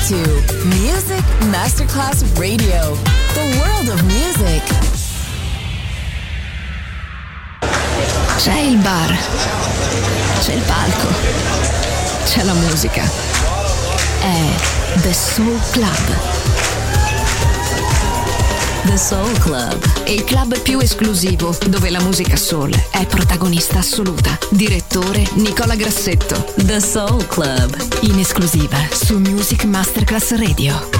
to Music Masterclass Radio, the world of music. C'è il bar, c'è il palco, c'è la musica. È The Soul Club. The Soul Club, Il club più esclusivo dove la musica soul è protagonista assoluta. Direttore Nicola Grassetto. The Soul Club, In esclusiva su Music Masterclass Radio.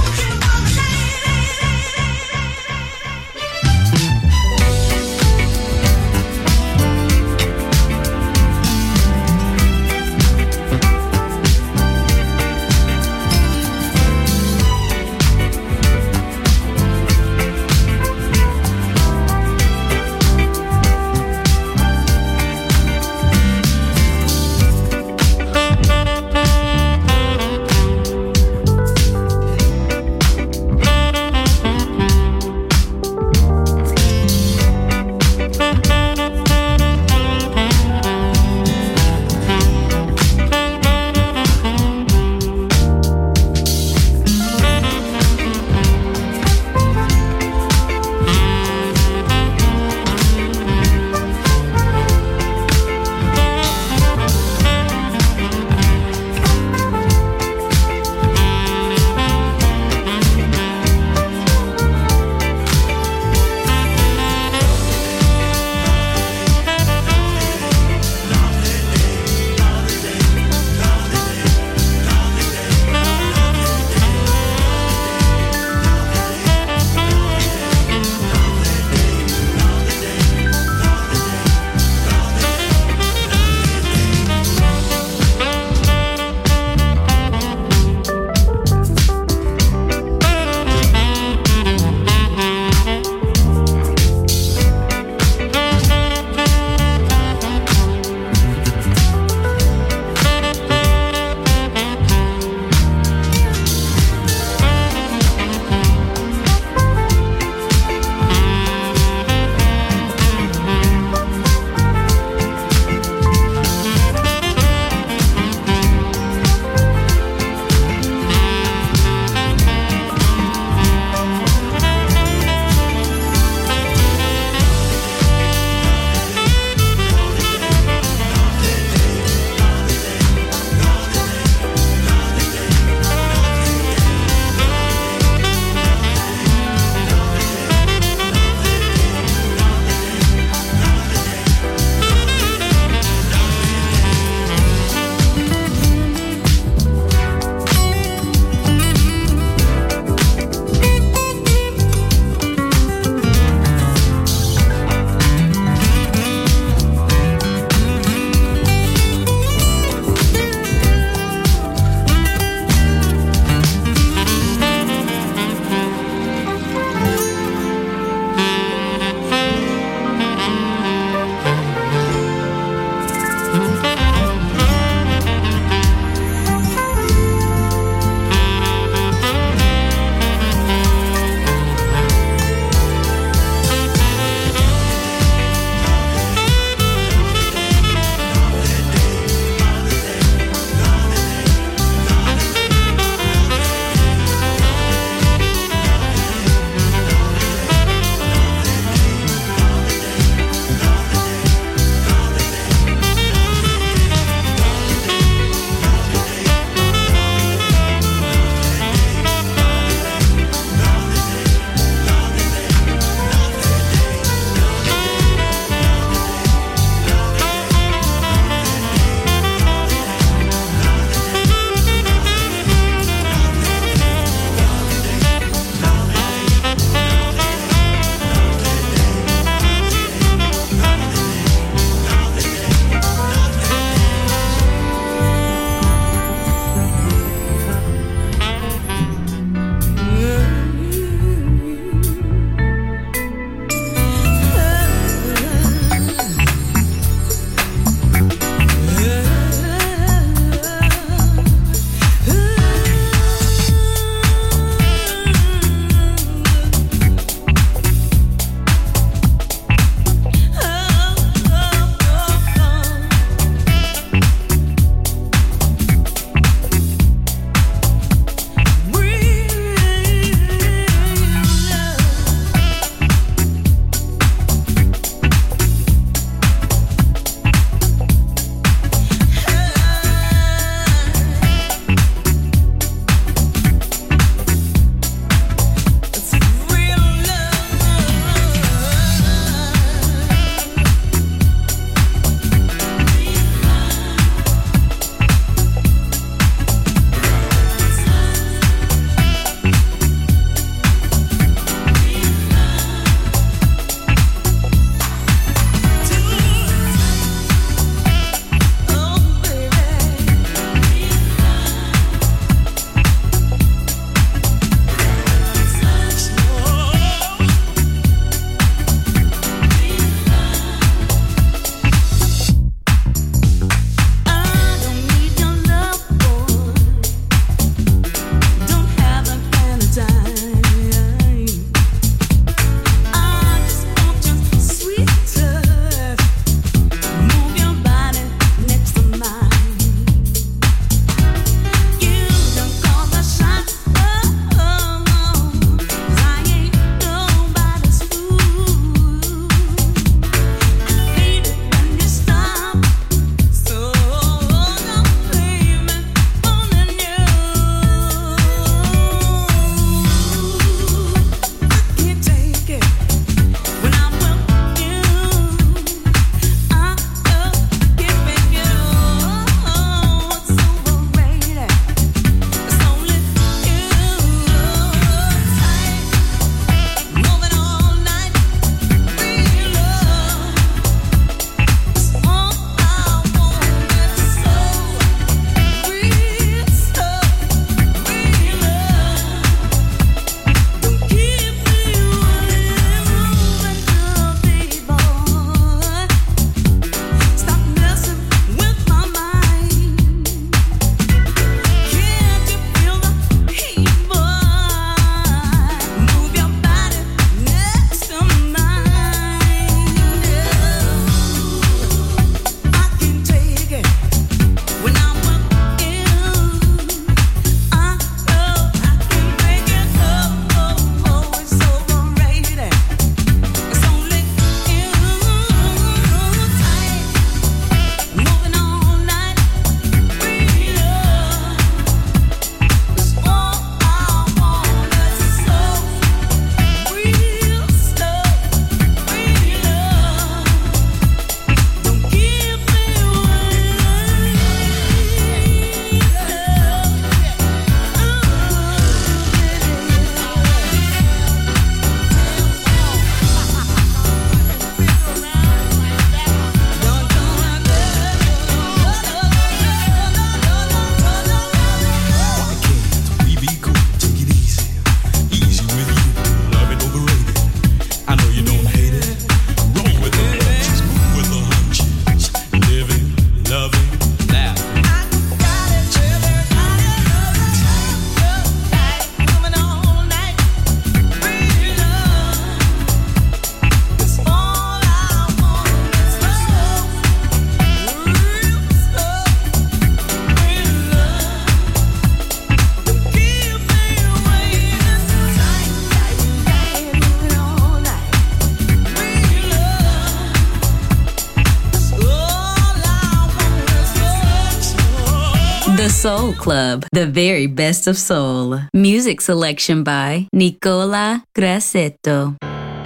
Soul Club, the very best of soul. Music selection by Nicola Grassetto.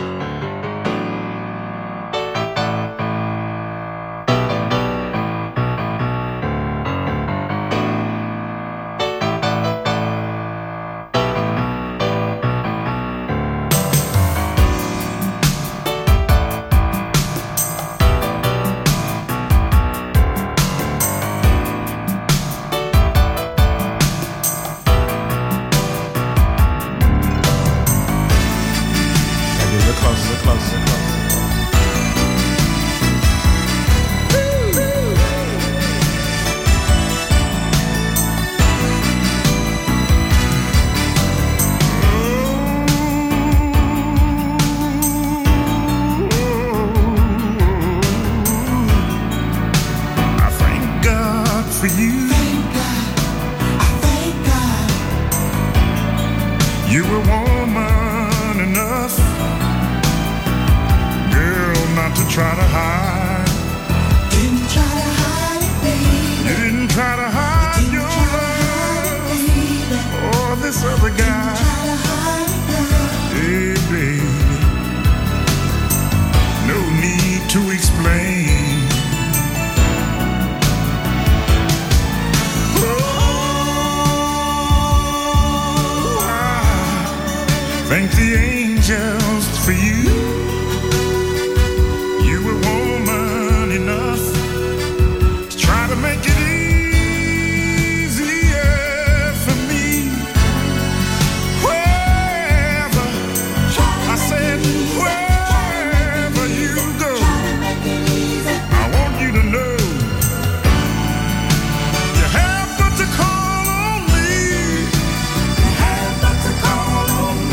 Thank the angels for you. You were woman enough to try to make it easier for me. Wherever, I said, wherever you go, I want you to know you have but to call on me. You have but to call on me.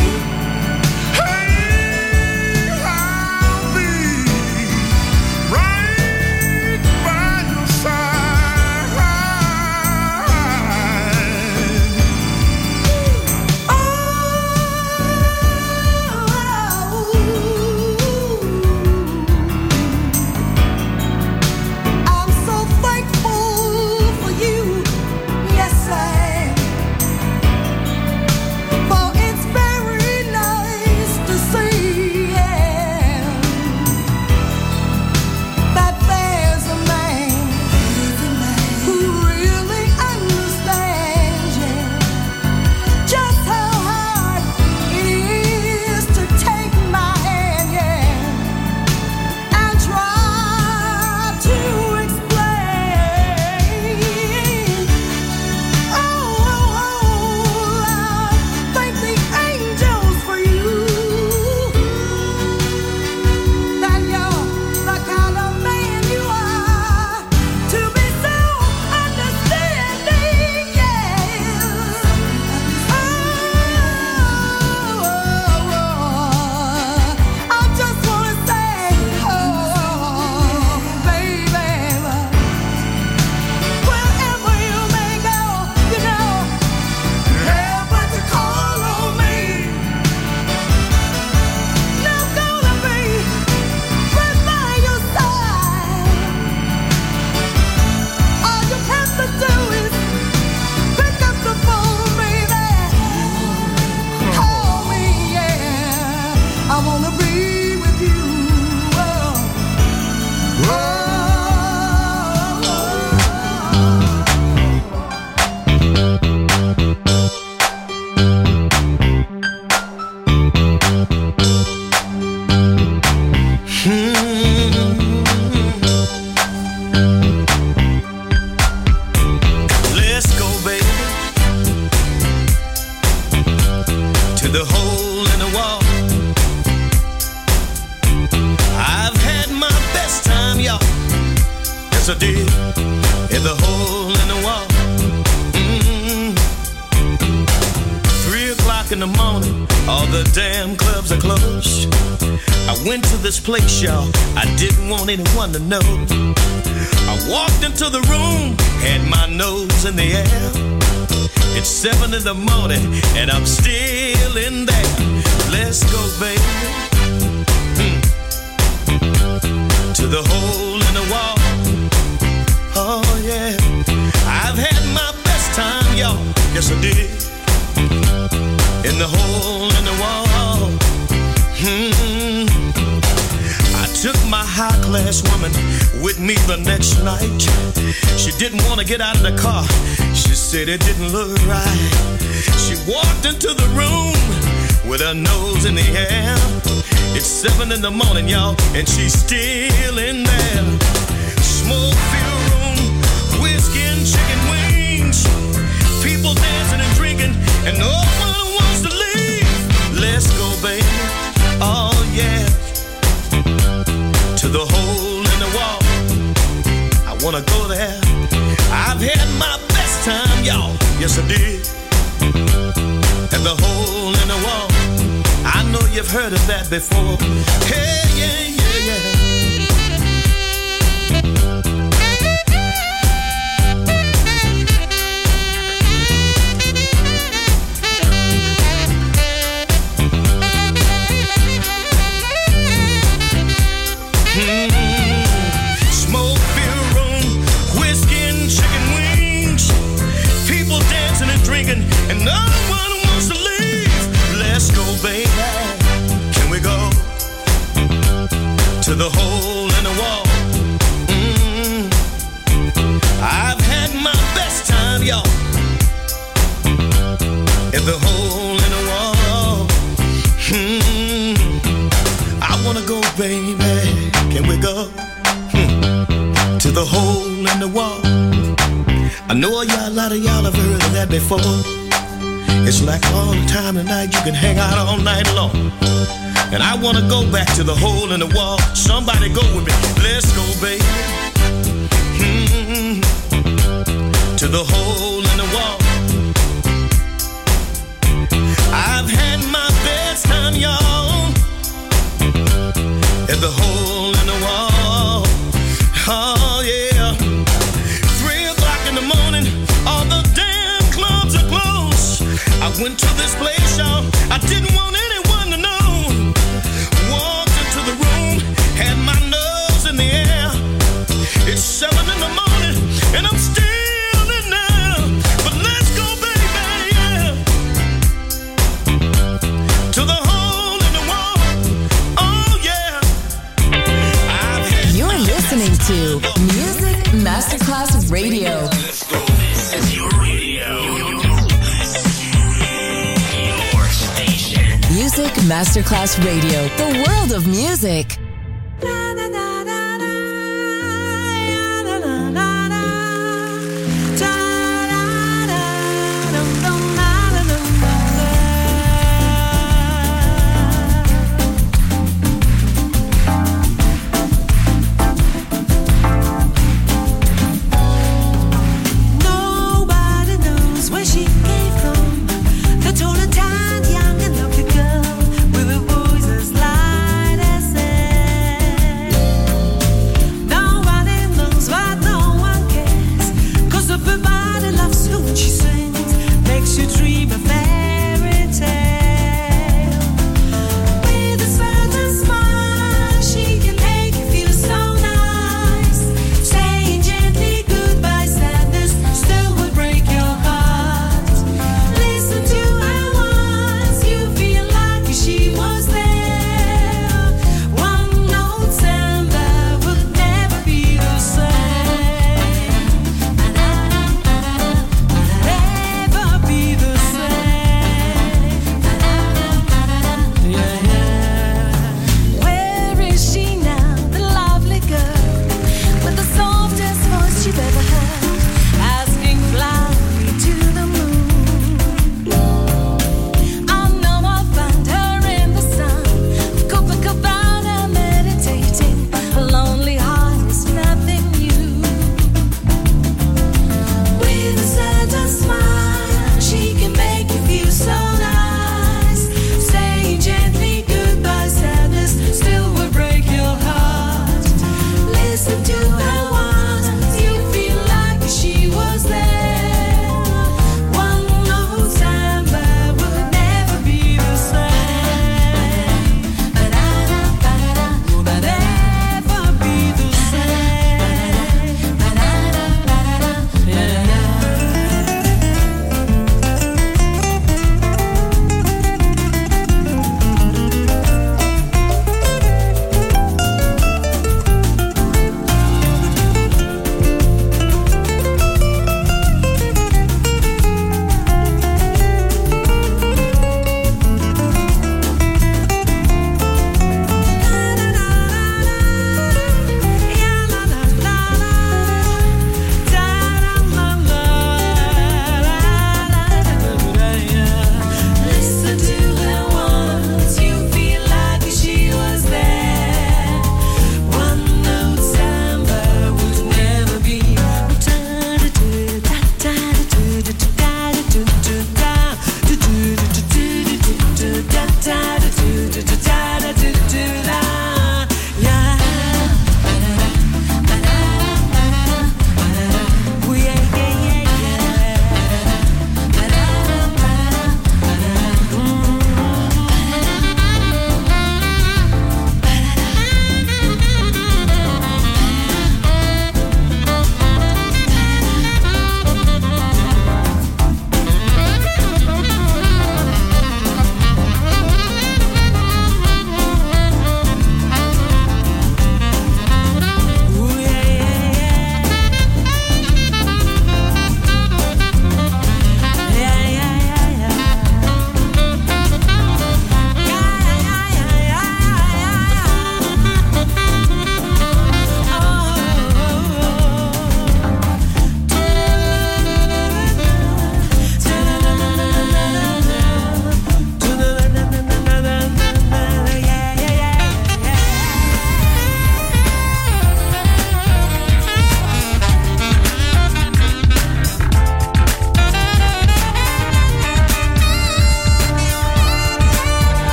I did in the hole in the wall. 3 o'clock in the morning, all the damn clubs are closed. I went to this place, y'all, I didn't want anyone to know. I walked into the room, had my nose in the air. It's 7 in the morning, and I'm still in there. Let's go, baby, to the hole in the wall. Oh yeah, I've had my best time. y'all. Yes, I did. In the hole in the wall. I took my high-class woman with me the next night. She didn't want to get out of the car. She said it didn't look right. She walked into the room with her nose in the air. It's 7 in the morning, y'all, and she's still in there. Smoke-filled room, whiskey and chicken wings. People dancing and drinking, and no one wants to leave. Let's go, baby. Oh, yeah. To the hole in the wall. I wanna go there. I've had my best time, y'all. Yes, I did. At the hole in the wall. I know you've heard of that before. Hey, yeah, yeah, yeah. Smoke-filled room, whiskey and chicken wings. People dancing and drinking, and no one wants to leave. Let's go, baby. Can we go to the hole in the wall? I've had my best time, y'all. At the hole in the wall. I wanna go, baby. Can we go to the hole in the wall? I know a lot of y'all have heard of that before. It's like all the time tonight, you can hang out all night long. And I wanna go back to the hole in the wall. Somebody go with me. Let's go, baby. To the hole in the wall. I've had my best time, y'all. At the hole in the wall. Oh, yeah. 3 o'clock in the morning, all the damn clubs are closed. I went to this place, y'all. I didn't want anyone to know. Walked into the room, had my nose in the air. It's 7 in the morning, and I'm still in there. But let's go, baby, yeah. To the hole in the wall. Oh, yeah. You're listening to Music Masterclass Radio. Let's go. This is your radio. Your station. Music Masterclass Radio. The world of music. Nobody knows where she came from. The tall and young and lovely girl with a voice as light as air.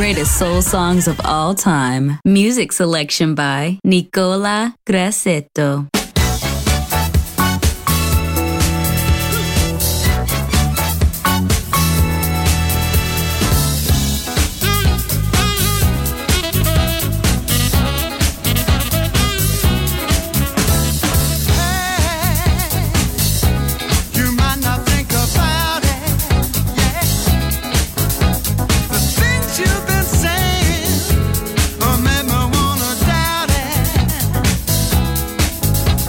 greatest soul songs of all time. Music selection by Nicola Grassetto. You've been saying, or made me wanna doubt it.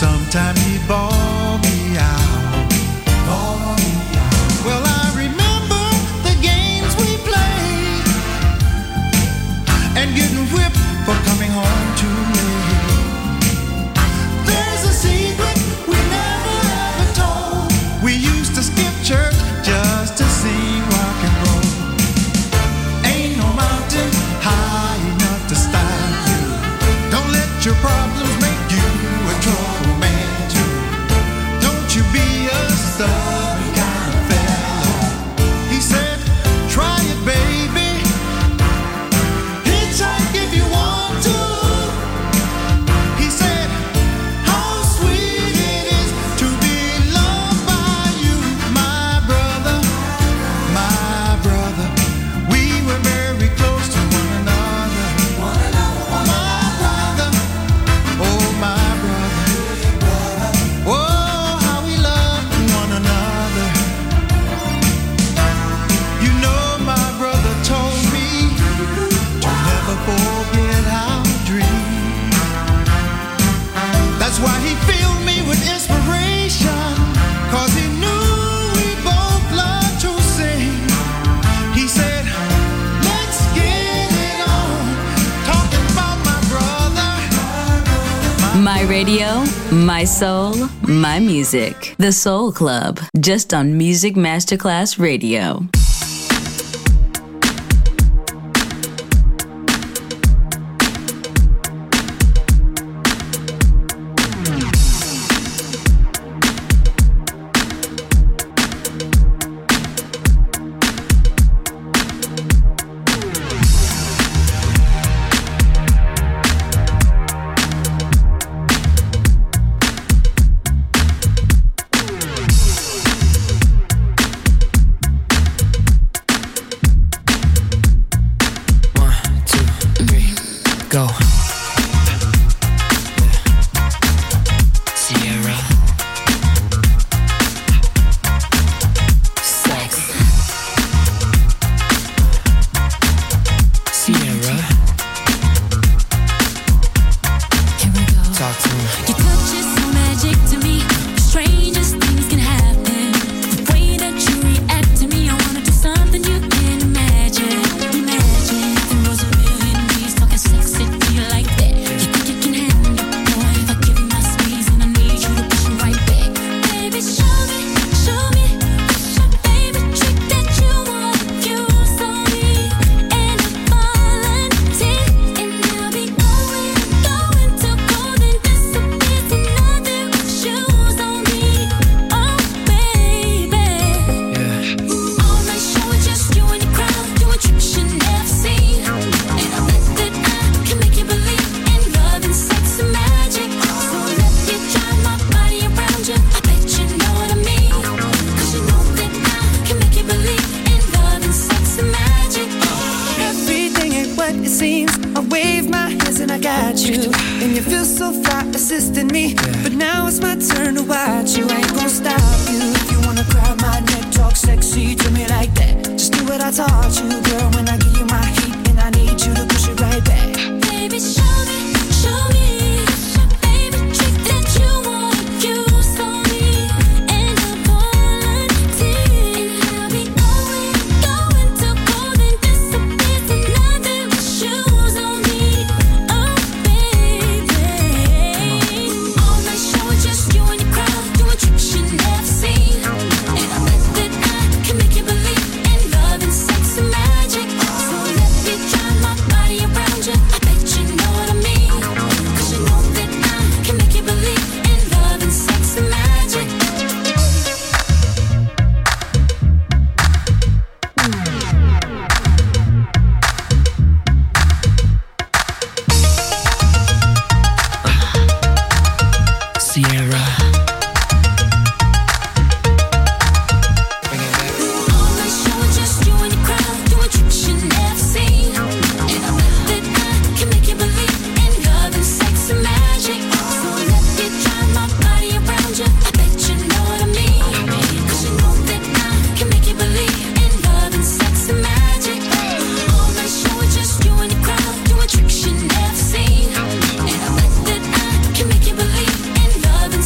sometime he'd bawl me out. Well, I remember the games we played and getting whipped for coming home too late. There's a secret we never ever told. We used to skip church just to sing rock and roll. Ain't no mountain high enough to stop you. Don't let your problems make you a trouble man too. Don't you be a stubborn kind of fellow. He said, try it, baby. Hitchhike if you want to. He said, how sweet it is to be loved by you, my brother, my brother. We were very close to one another. My brother, oh my brother. Oh, how we loved one another. You know my brother told me to never forget our dream. That's why he filled me with inspiration, 'cause he knew we both loved to sing. He said, let's get it on, talking about my brother. My radio, my soul, my music. The Soul Club, just on Music Masterclass Radio. Go. Sierra. Sex. Sierra. Here we go. Talk to me. Your touch is so magic to me. The strangest things can happen. The way that you react to me, I wanna do something you can't imagine. Imagine if there was a million ways talking sexy to you like that. You think you can handle it, boy? If I give you my space and I need you to push it right back. Baby, show me, what's your favorite trick that you wanna use on me? And I volunteer, and I'll be going to golden disappears and nothing with shoes on me. Oh, baby. Yeah. All night show with just you and the crowd, doing tricks you never seen. And I bet that I can make you believe in love and sex and magic. So let me drive my body around you. I bet you know what I mean. 'Cause you know that I can make you believe in love and sex and magic. Everything ain't what it seems. I wave my hands and I got you. And you feel so fly assisting me. But now it's my turn to watch you. I ain't gonna stop you. If you wanna grab my neck, talk sexy to me like that. Just do what I taught you, girl. When I give you my heat and I need you to push it right back. Baby, show me what's your favorite trick that you wanna use on me. And I volunteer, and I'll be going to golden disappears and nothing with shoes on me. Oh, baby. All night show with just you and the crowd, doing tricks you never seen. And I bet that I can make you believe in love and sex and magic. So let me drive my body around you. I bet you know what I mean. 'Cause you know that I can make you believe in love and sex and magic. Sierra. All night show with just you and the crowd, doing tricks you never seen. And I bet that I can make you believe in love and sex and magic. So let me drive my body around you. I bet you know what I mean. 'Cause you know that I can make you believe in love and sex and magic. All night show with just you and the crowd, doing tricks you never seen. And I bet that I can make you believe in love and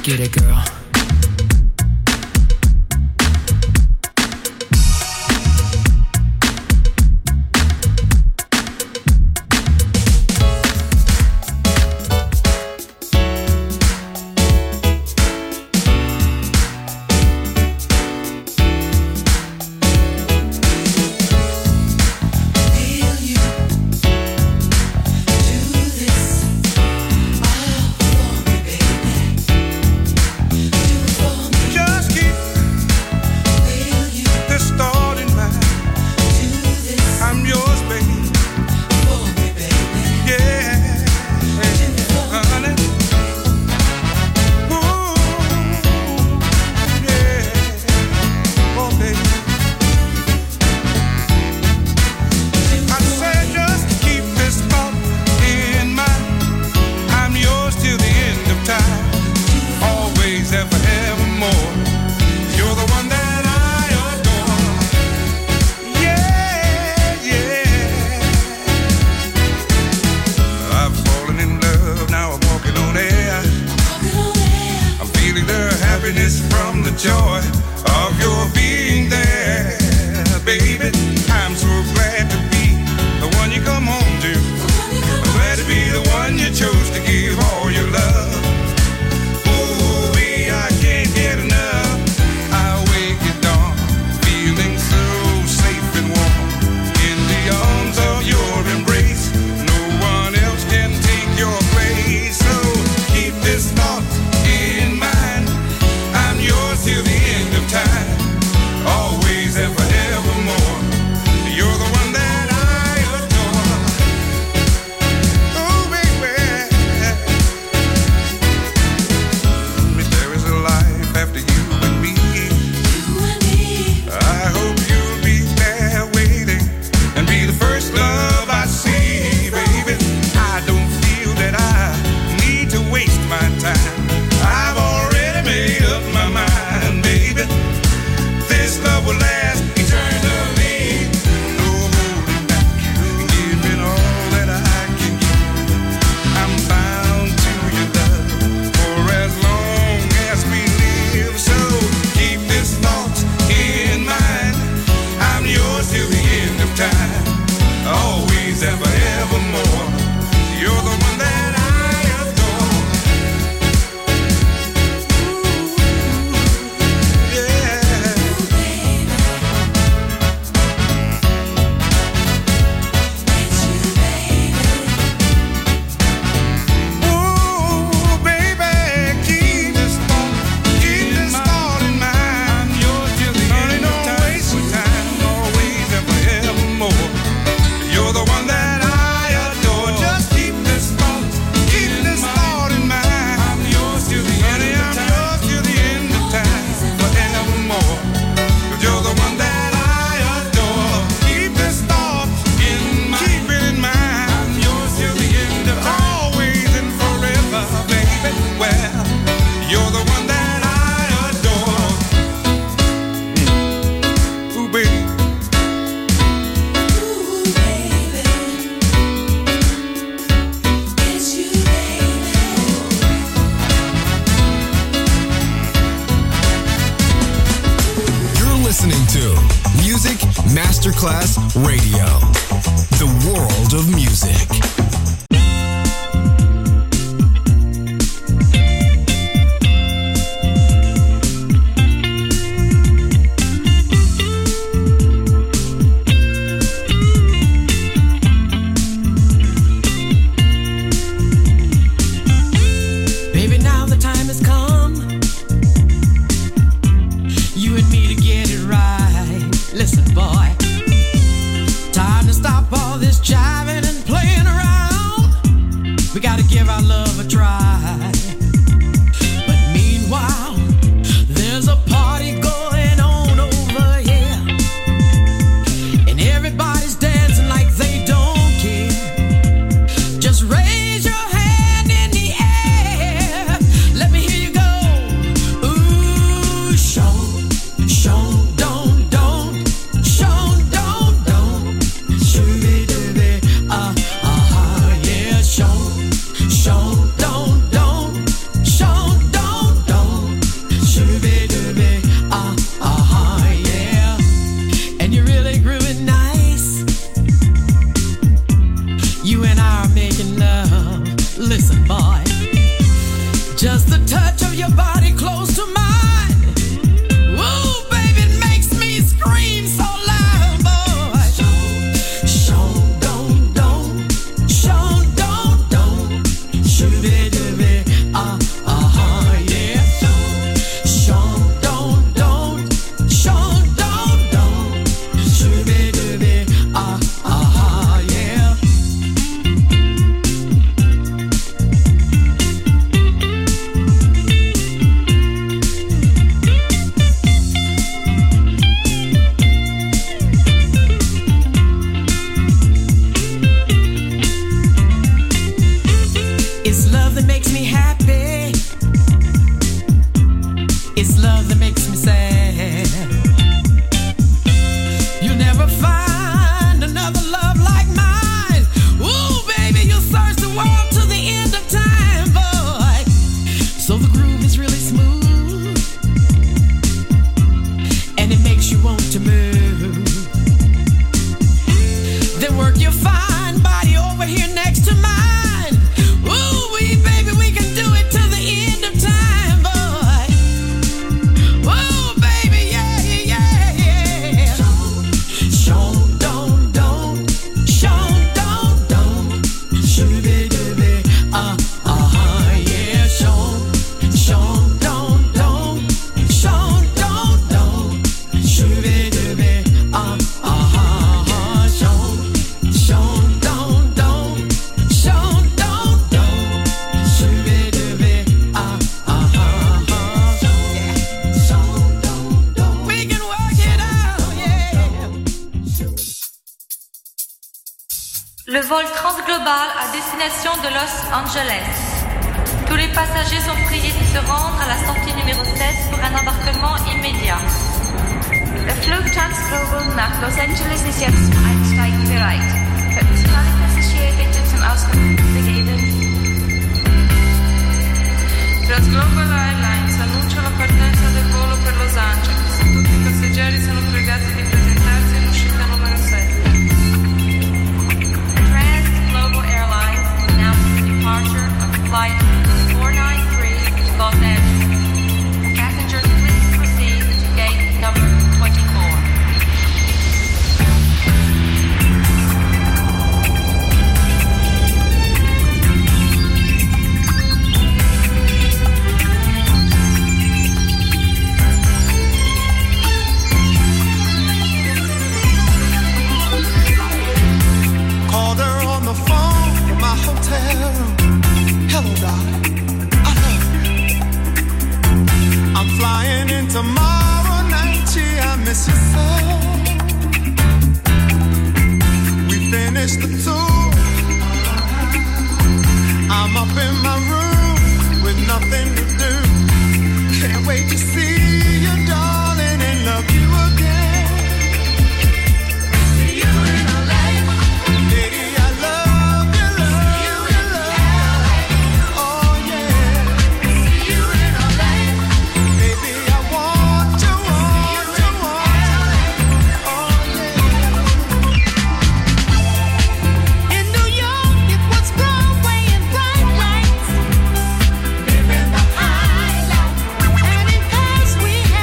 get it, girl. Masterclass Radio, the world of music. Baby, now the time has come, you and me to get it right. Listen, boy, time to stop all this jiving and playing around. We gotta give our love a try. But meanwhile, there's a party going on over here, and everybody's dancing like they don't care. Just raise your hand in the air, let me hear you go. Ooh, show, don't, show, don't, shooby dooby, yeah, show, don't, listen, boy. Just the touch of your body close to mine. Ooh, baby, it makes me scream so loud, boy. Shone, don't, shone, don't, shoo-be-doo-be, yeah. Shone, don't, shone, don't, shoo-be-doo-be, yeah. It's love that makes me happy. It's love that makes me sad. You'll never find another love like mine. Ooh, baby, you'll search the world to the end of time, boy. So the groove is really smooth, and it makes you want to move. Then work your fine body over here next to mine. Ooh, baby, we can do it to the end of time, boy. Ooh, baby, yeah, yeah, yeah. Shone, don't, shone, don't, shoo-be-doo-be, yeah. Shone, don't, shone, don't, shoo-be-doo-be, Shone, don't, shone, don't, shoo-be-doo-be, We can work it out, yeah. Le vol transglobal à destination de Los Angeles. Tous les passagers sont priés de se rendre à la sortie numéro 7 pour un embarquement immédiat. Der Flug Transglobal nach Los Angeles ist jetzt zum Einsteigen bereit. Könnten Sie alle Passagiere bitte zum Ausgang begeben? Transglobal Airlines annuncia la partenza del volo per Los Angeles. Tutti i passeggeri sono pregati di presentarsi in uscita numero 7. Transglobal Airlines announces the departure of flight 493 to Los Angeles. Passengers, please proceed to gate number 24. Called her on the phone from my hotel room. Hello, darling, I love you. I'm flying in tomorrow night. Gee, I miss you so. We finished the tour. I'm up in my room with nothing to do. Can't wait to see you, darling, and love you again. We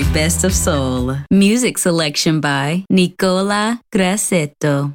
best of soul. Music selection by Nicola Grassetto.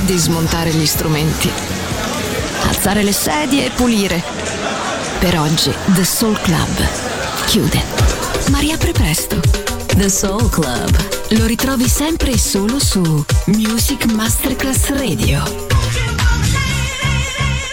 di smontare gli strumenti, alzare le sedie e pulire. Per oggi The Soul Club chiude, ma riapre presto. The Soul Club. Lo ritrovi sempre e solo su Music Masterclass Radio.